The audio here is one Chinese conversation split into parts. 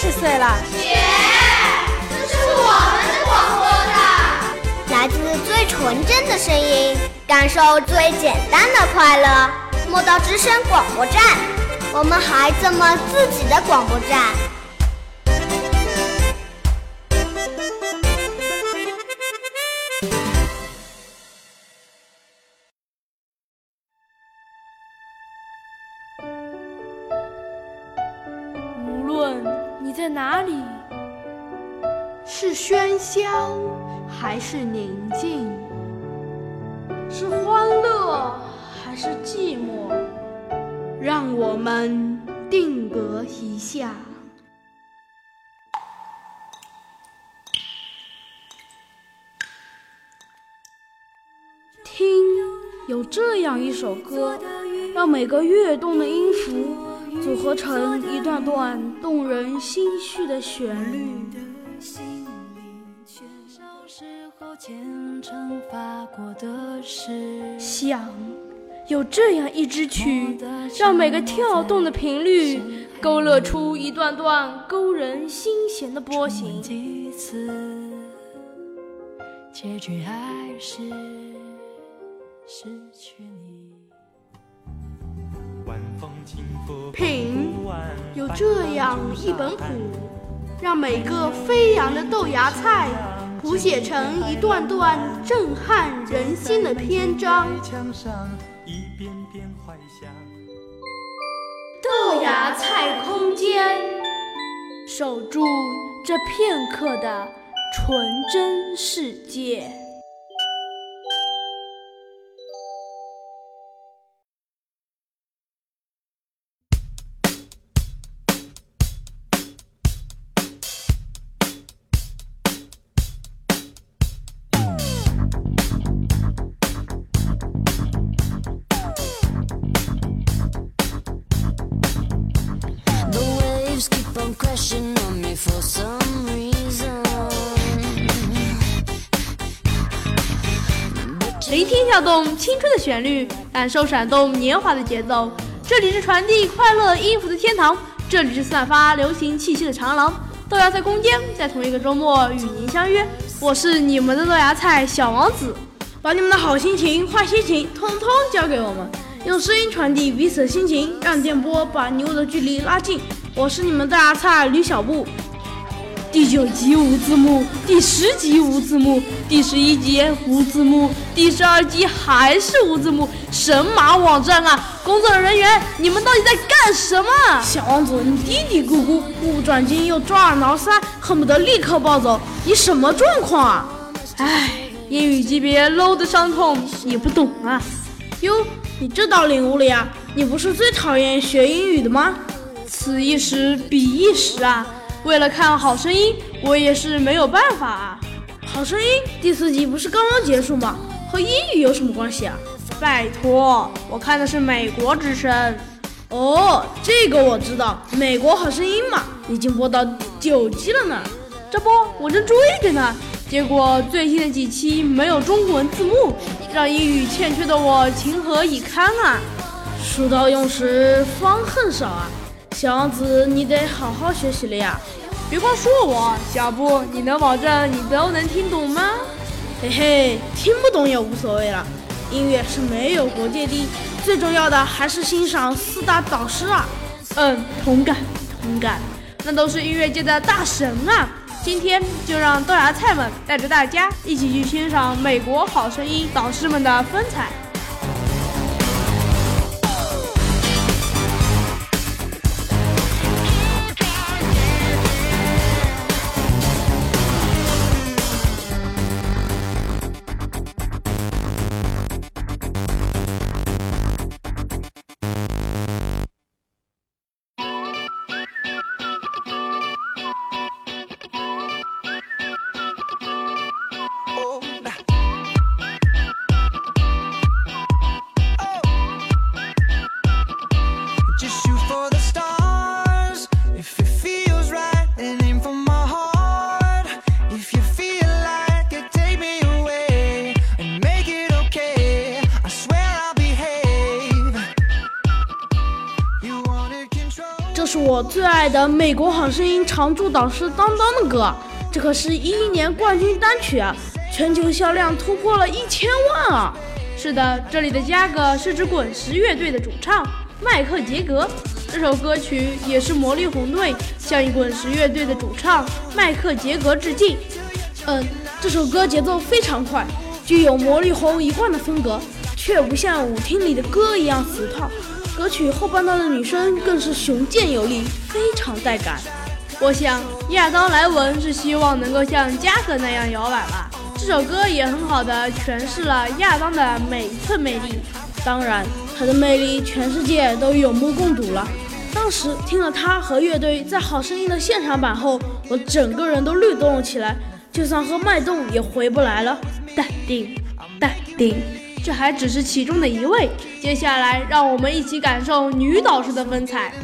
30岁了。 姐，这是我们的广播站， 来自最纯真的声音，感受最简单的快乐。莫道之声广播站，我们孩子们自己的广播站。 无论你在哪里， 是喧嚣还是宁静，是欢乐还是寂寞，让我们定格一下。听，有这样一首歌，让每个跃动的音符组合成一段段动人心绪的旋律。想，有这样一支曲，让每个跳动的频率勾勒出一段段勾人心弦的波形。结局还是失去你。品，有这样一本谱，让每个飞扬的豆芽菜谱写成一段段震撼人心的篇章。豆芽菜空间，守住这片刻的纯真世界。聆听跳动青春的旋律，感受闪动年华的节奏。这里是传递快乐音符的天堂，这里是散发流行气息的长廊。豆芽菜空间在同一个周末与您相约，我是你们的豆芽菜小王子，把你们的好心情、坏心情通通交给我们，用声音传递彼此的心情，让电波把你我的距离拉近。我是你们豆芽菜吕小布。第9集无字幕，第10集无字幕，第11集无字幕，第12集还是无字幕，神马网站啊！工作人员，你们到底在干什么？小王子，你嘀嘀咕咕，目不转睛又抓耳挠腮，恨不得立刻暴走，你什么状况啊？唉，英语级别 low 的伤痛你不懂啊。哟，你这倒领悟了呀，你不是最讨厌学英语的吗？此一时彼一时啊，为了看好声音，我也是没有办法啊。好声音第4集不是刚刚结束吗？和英语有什么关系啊？拜托，我看的是美国之声。哦，这个我知道，美国好声音嘛，已经播到9集了呢。这不，我正追着呢，结果最新的几期没有中文字幕，让英语欠缺的我情何以堪啊！书到用时方恨少啊。小王子，你得好好学习了呀！别光说我，小布，你能保证你都能听懂吗？嘿嘿，听不懂也无所谓了，音乐是没有国界的，最重要的还是欣赏4大导师啊！同感，那都是音乐界的大神啊！今天就让豆芽菜们带着大家一起去欣赏美国好声音导师们的风采。 最爱的美国好声音常驻导师当当的歌，这可是2011年冠军单曲啊，全球销量突破了1000万啊！ 是的，这里的加格是指滚石乐队的主唱迈克杰格，这首歌曲也是魔力红队向滚石乐队的主唱迈克杰格致敬。 这首歌节奏非常快，具有魔力红一贯的风格，却不像舞厅里的歌一样死套。歌曲后半段的女声更是雄健有力，非常带感。 我想亚当莱文是希望能够像加格那样摇摆吧。这首歌也很好的诠释了亚当的每一寸魅力。 当然，他的魅力全世界都有目共睹了。当时听了他和乐队在《好声音》的现场版后，我整个人都律动了起来，就算喝脉动也回不来了。淡定，淡定。 这还只是其中的一位，接下来让我们一起感受女导师的风采。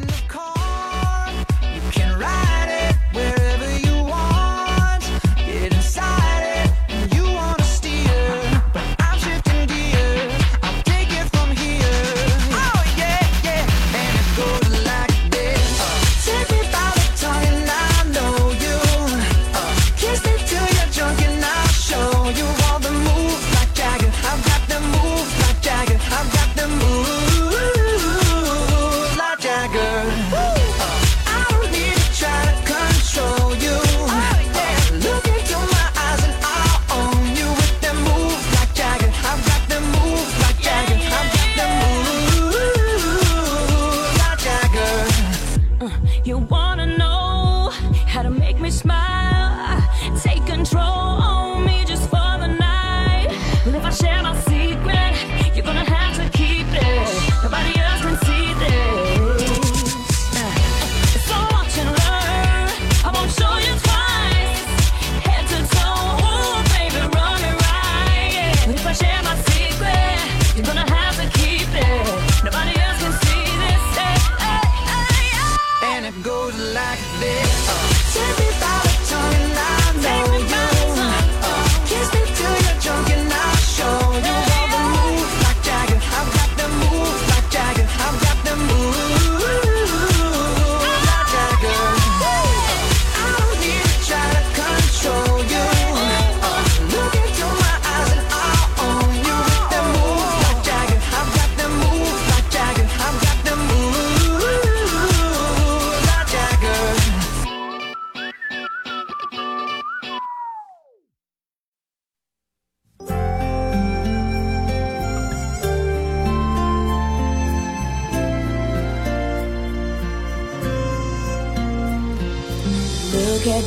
Look at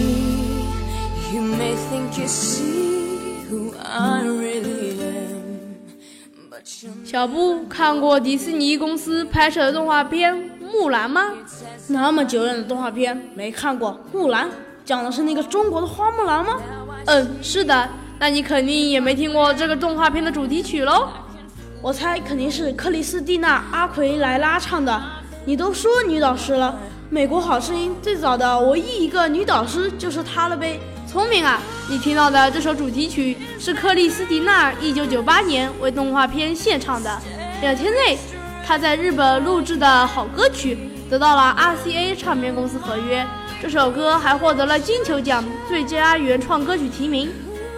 me, you may think you see who I really am, but you 小布看过迪士尼公司拍摄的动画片《木兰》吗？ 那么久远的动画片没看过。木兰讲的是那个中国的花木兰吗？ 是的。那你肯定也没听过这个动画片的主题曲喽？ 我猜肯定是克里斯蒂娜·阿奎莱拉唱的。你都说女导师了，美国好声音最早的唯一一个女导师就是她了呗。 聪明啊！你听到的这首主题曲是克里斯蒂娜1998年为动画片献唱的。2天内，她在日本录制的好歌曲得到了 RCA 唱片公司合约。这首歌还获得了金球奖最佳原创歌曲提名。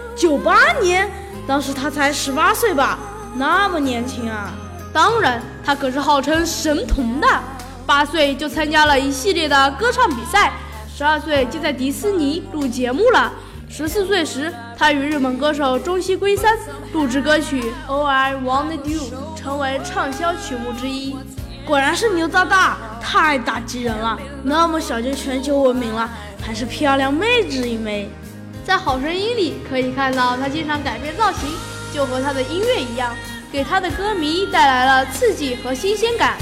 98年，当时她才18岁吧？那么年轻啊！ 当然，她可是号称神童的。8岁就参加了一系列的歌唱比赛，12岁就在迪士尼录节目了。14岁时，他与日本歌手中西圭三录制歌曲《All I Wanted You》，成为畅销曲目之一。 果然是牛大大，太打击人了！那么小就全球闻名了，还是漂亮妹子一枚。 在《好声音》里可以看到，他经常改变造型，就和他的音乐一样，给他的歌迷带来了刺激和新鲜感。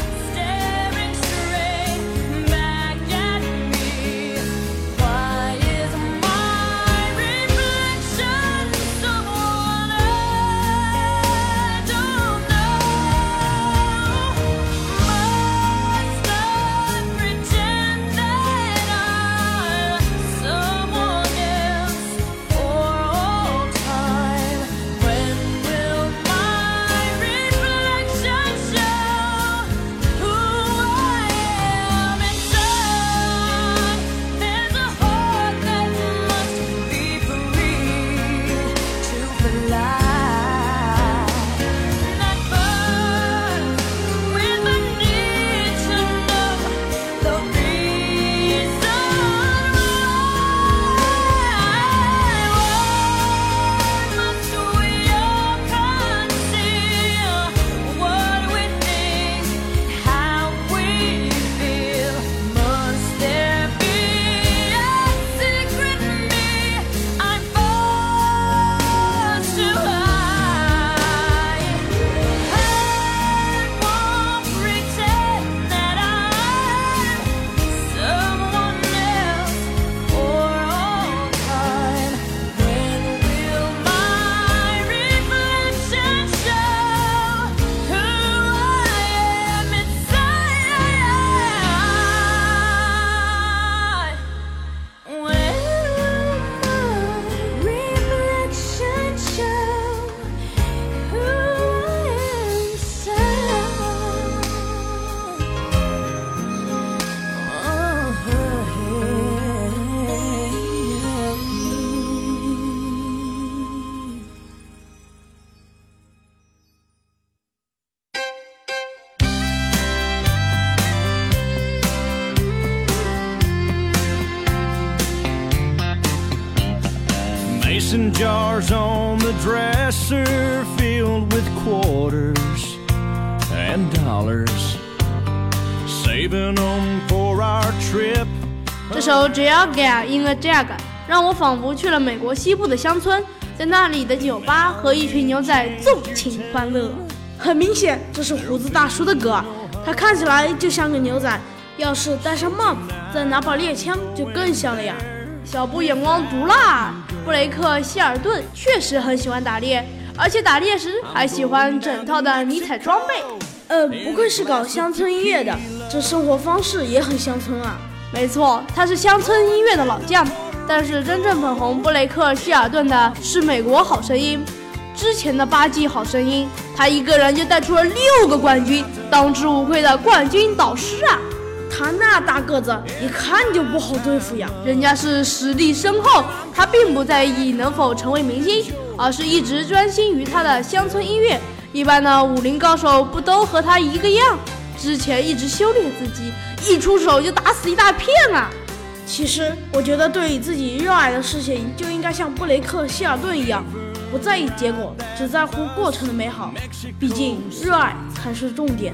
Mason jars on the dresser filled with quarters and dollars, saving them for our trip. 这首 Georgia in a Jag 让我仿佛去了美国西部的乡村，在那里的酒吧和一群牛仔纵情欢乐。 很明显，这是胡子大叔的歌，他看起来就像个牛仔，要是戴上帽子，再拿把猎枪，就更像了呀。 小布眼光毒辣，布雷克·希尔顿确实很喜欢打猎，而且打猎时还喜欢整套的尼采装备。 不愧是搞乡村音乐的，这生活方式也很乡村啊。 没错，他是乡村音乐的老将，但是真正捧红布雷克·希尔顿的是美国好声音。之前的8季好声音，他一个人就带出了6个冠军，当之无愧的冠军导师啊！ 他那大个子，一看就不好对付呀。 人家是实力深厚，他并不在意能否成为明星，而是一直专心于他的乡村音乐。一般的武林高手不都和他一个样？之前一直修炼自己，一出手就打死一大片啊！ 其实我觉得对于自己热爱的事情，就应该像布雷克·希尔顿一样，不在意结果，只在乎过程的美好。毕竟热爱才是重点。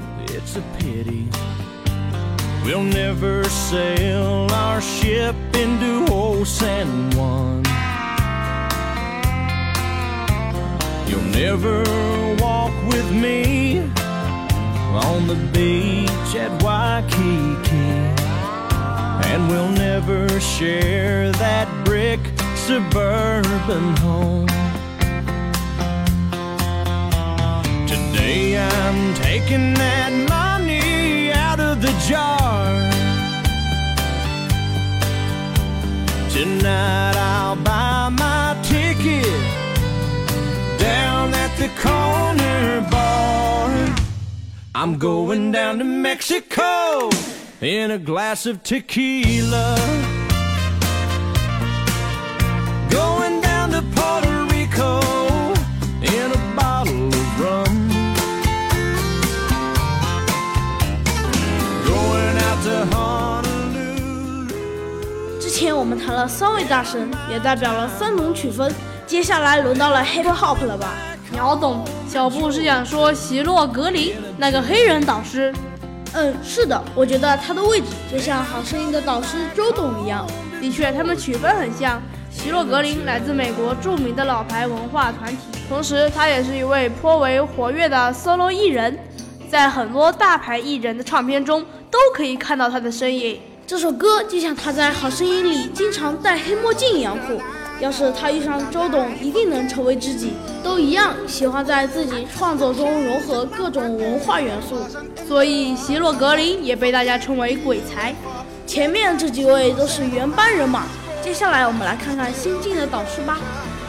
We'll never sail our ship into old San Juan. You'll never walk with me on the beach at Waikiki. And we'll never share that brick suburban home. Today I'm taking that money out of the jar. Tonight I'll buy my ticket down at the corner bar. I'm going down to Mexico in a glass of tequila. Going down to Puerto Rico in a bottle of rum. Going out to Honolulu. 之前我们谈了3位大神，也代表了3种曲风，接下来轮到了 hip hop 了吧？ 秒懂，小布是想说席洛格林那个黑人导师。 是的，我觉得他的位置就像好声音的导师周董一样。 的确，他们曲风很像。席洛格林来自美国著名的老牌文化团体，同时他也是一位颇为活跃的 solo 艺人，在很多大牌艺人的唱片中都可以看到他的身影。 这首歌就像他在好声音里经常戴黑墨镜一样酷，要是他遇上周董，一定能成为知己。都一样喜欢在自己创作中融合各种文化元素， 所以席洛格林也被大家称为鬼才。 前面这几位都是原班人马，接下来我们来看看新晋的导师吧。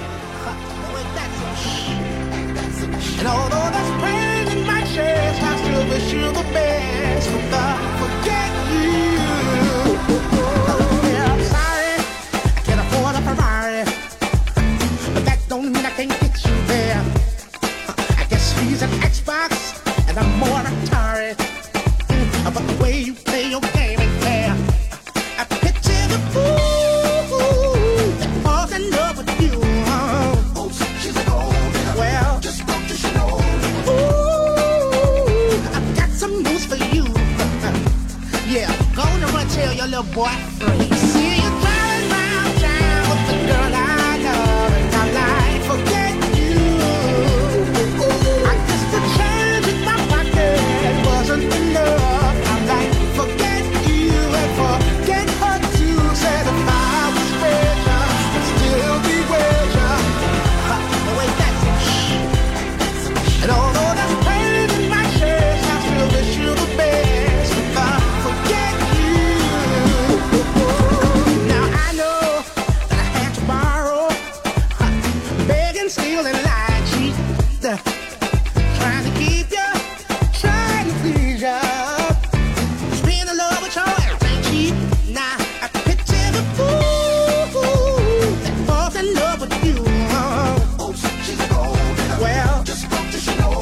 He's an Xbox and I'm more Atari. But the way you play your game ain't fair. I picture the fool that falls in love with you. Oh, she's an old girl. Well, just don't you know. Ooh, I've got some news for you. Yeah, go on and run tell your little boy free. See you driving round town with the girl I love, and I like forget you. I guess the change in my pocket wasn't enough. I like forget you and forget her too. Said if I was richer, I'd still be with ya. The way that's it. And although that's pain in my chest, I still wish you the best. If I forget you. Now I know that I had to borrow, begging, stealing, lying, cheat. Trying to keep you, trying to please you. Being in love with your ass ain't cheap. Now I picture the fool that falls in love with you. Oh, she's an old girl. Well, just don't you know.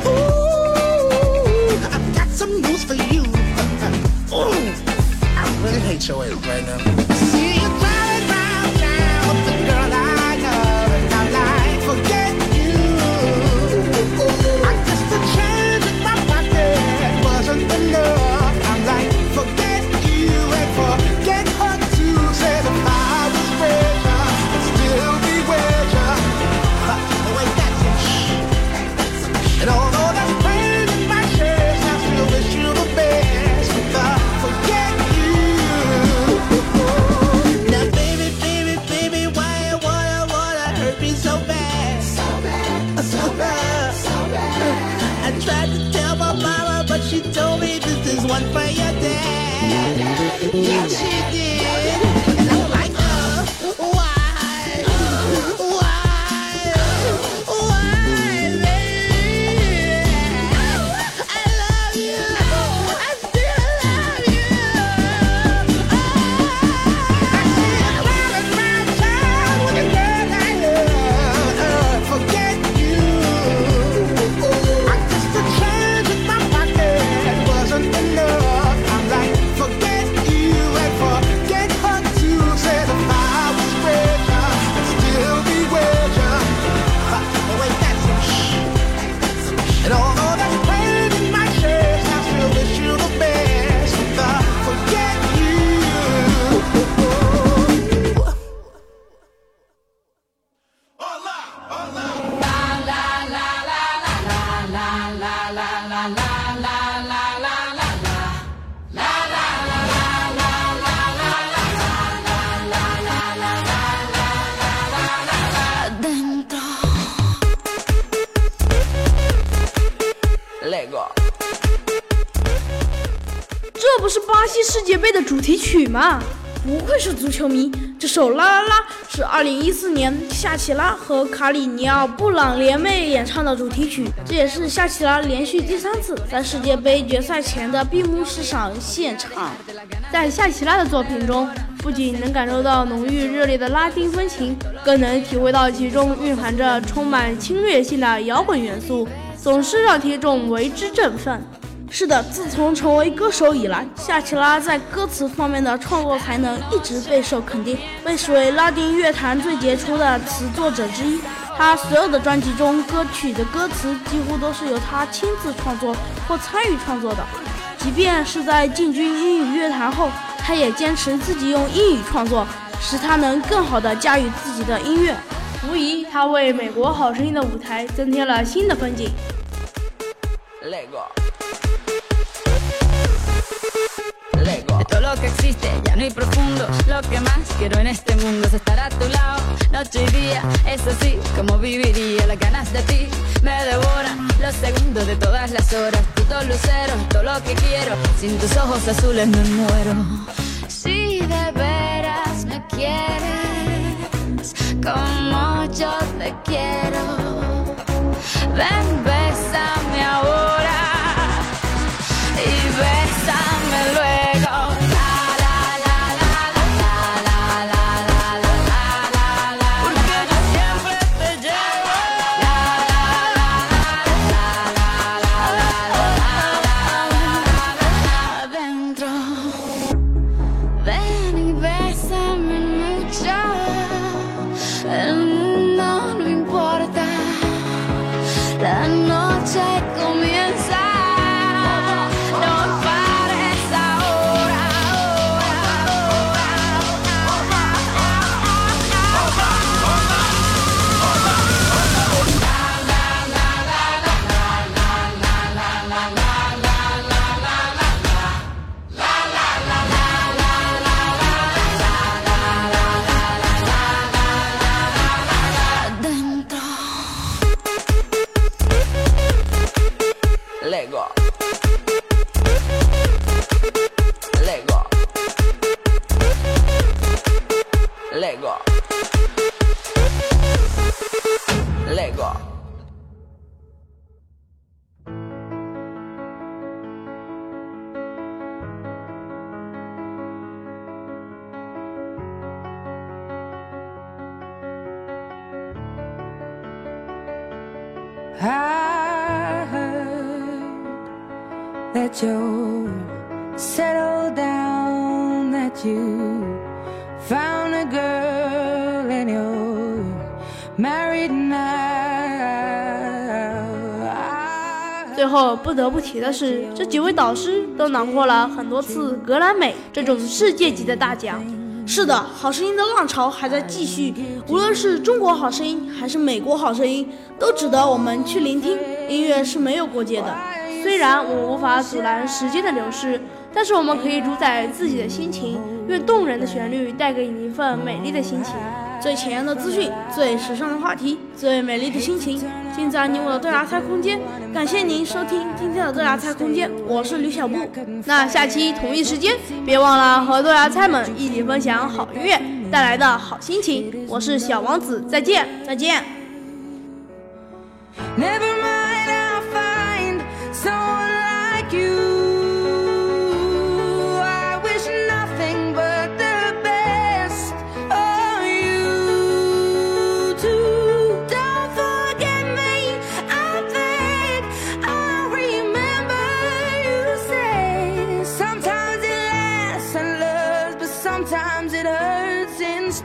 Ooh, I've got some news for you. Ooh, I really hate your ass right now. See you driving round town with the girl I love. 的主题曲嘛。 不愧是足球迷，这首《啦啦啦》是2014年夏奇拉和卡里尼奥布朗联袂演唱的主题曲，这也是夏奇拉连续第3次在世界杯决赛前的闭幕式上献唱。 在夏奇拉的作品中，不仅能感受到浓郁热烈的拉丁风情，更能体会到其中蕴含着充满侵略性的摇滚元素，总是让听众为之振奋。 是的，自从成为歌手以来，夏奇拉在歌词方面的创作才能一直备受肯定，被视为拉丁乐坛最杰出的词作者之一。他所有的专辑中歌曲的歌词几乎都是由他亲自创作或参与创作的，即便是在进军英语乐坛后，他也坚持自己用英语创作，使他能更好地驾驭自己的音乐。 无疑，他为美国好声音的舞台增添了新的风景。 De todo lo que existe, llano y profundo, lo que más quiero en este mundo es estar a tu lado, noche y día, es así como viviría. Las ganas de ti me devoran, los segundos de todas las horas, tú todo lucero, todo lo que quiero, sin tus ojos azules me muero. Si de veras me quieres, como yo te quiero, ven, bésame ahora y bésame luego. La noche comienza, no pares ahora, Lego. Lego. Lego. Lego. I heard that you're settled down, that you found a girl and you're married now. 最后不得不提的是，这几位导师都囊括了很多次格莱美这种世界级的大奖。 是的，好声音的浪潮还在继续，无论是中国好声音还是美国好声音，都值得我们去聆听。音乐是没有国界的， 虽然我们无法阻拦时间的流逝，但是我们可以主宰自己的心情，愿动人的旋律带给你一份美丽的心情。 最前沿的资讯，最时尚的话题，最美丽的心情，尽在你我的豆芽菜空间。感谢您收听今天的豆芽菜空间，我是吕小布。 那下期同一时间，别忘了和豆芽菜们一起分享好音乐带来的好心情。我是小王子，再见，再见。 Never mind, I'll find someone like you. I wish nothing but the best of you too. Don't forget me, I think I remember you say sometimes it lasts and loves, but sometimes it hurts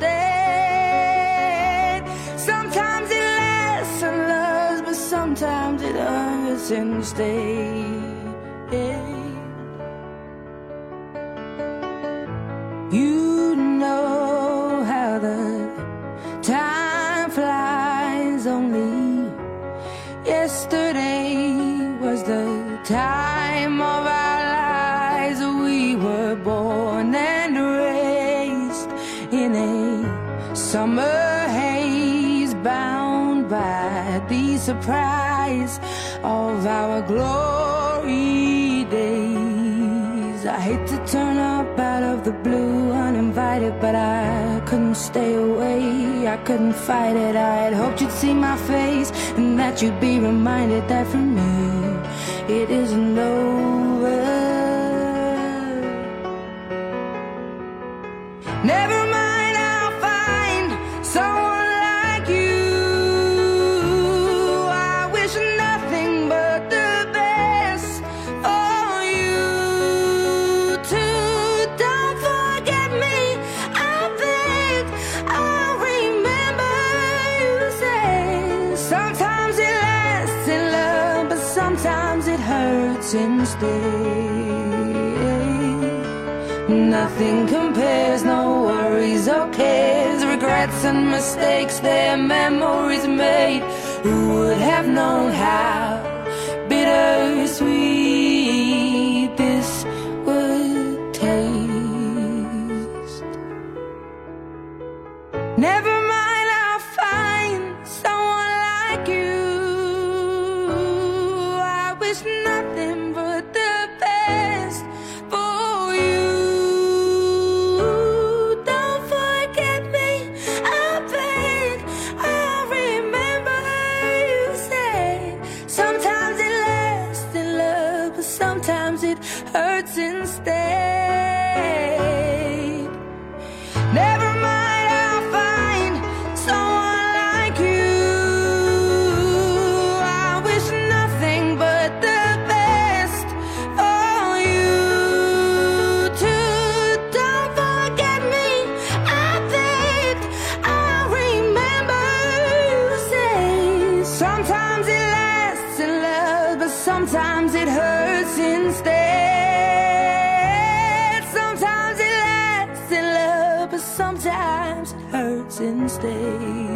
instead. Sometimes it lasts and loves, but sometimes it hurts instead. You know how the time flies. Only yesterday was the time of our lives. We were born and raised in a summer haze, bound by the surprise of our glory days. I hate to turn up out of the blue, uninvited, but I couldn't stay away. I couldn't fight it. I had hoped you'd see my face and that you'd be reminded that for me it isn't over. Never mind, I'll find someone like you. I wish nothing but the best for you too. Don't forget me, I beg. I'll remember you say sometimes it lasts in love, but sometimes it hurts instead. Nothing compares, no worries or cares, regrets and mistakes, their memories made. Who would have known how bittersweet this would taste? Never mind, I'll find someone like you. I wish nothing but the best for you. Don't forget me, I beg. I'll remember you said sometimes it lasts in love, but sometimes it hurts instead. Never mind, I'll find someone like you. I wish nothing but the best for you too. Don't forget me, I beg. I'll remember you say sometimes it lasts in love, but sometimes it hurts instead. Sometimes it lasts in love, but sometimes it hurts instead.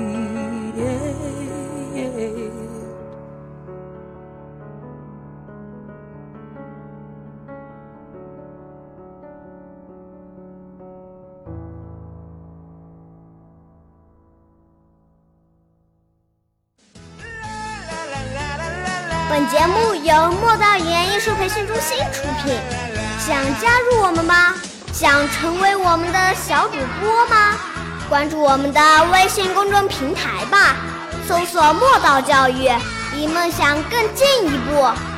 本节目由莫道语言艺术培训中心出品。想加入我们吗？想成为我们的小主播吗？关注我们的微信公众平台吧，搜索莫道教育，离梦想更进一步。